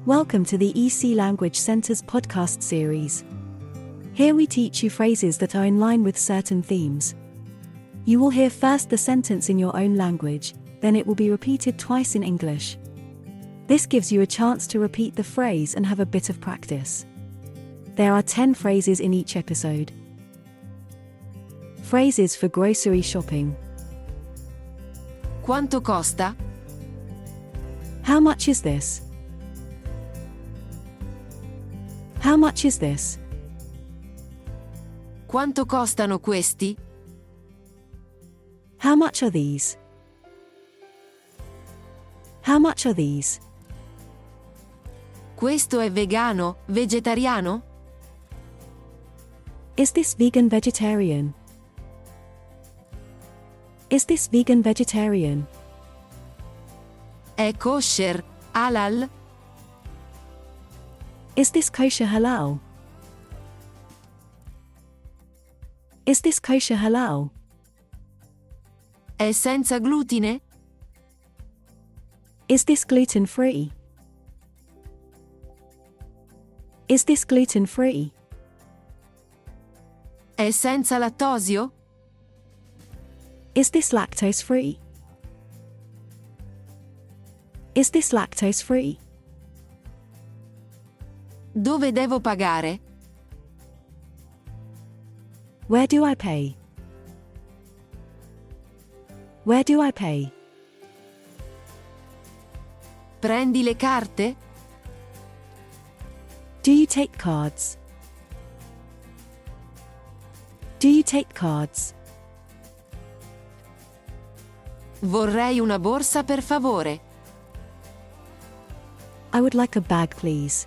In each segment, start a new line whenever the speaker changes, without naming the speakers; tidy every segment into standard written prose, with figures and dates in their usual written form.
Welcome to the EC Language Center's podcast series. Here we teach you phrases that are in line with certain themes. You will hear first the sentence in your own language, then it will be repeated twice in English. This gives you a chance to repeat the phrase and have a bit of practice. There are 10 phrases in each episode. Phrases for grocery shopping.
Quanto costa?
How much is this? How much is this?
Quanto costano questi?
How much are these? How much are these?
Questo è vegano, vegetariano?
Is this vegan vegetarian? Is this vegan vegetarian?
È kosher, halal?
Is this kosher halal? Is this kosher halal?
È senza glutine?
Is this gluten-free? Is this gluten-free?
È senza lattosio?
Is this lactose-free? Is this lactose-free?
Dove devo pagare?
Where do I pay? Where do I pay?
Prendi le carte?
Do you take cards? Do you take cards?
Vorrei una borsa per favore.
I would like a bag, please.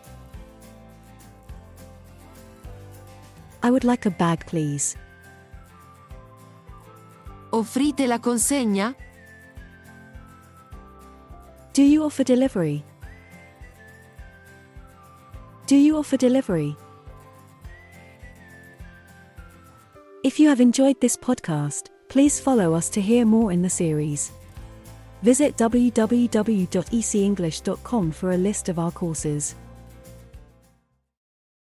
I would like a bag, please.
Offrite la consegna?
Do you offer delivery? Do you offer delivery? If you have enjoyed this podcast, please follow us to hear more in the series. Visit www.ecenglish.com for a list of our courses.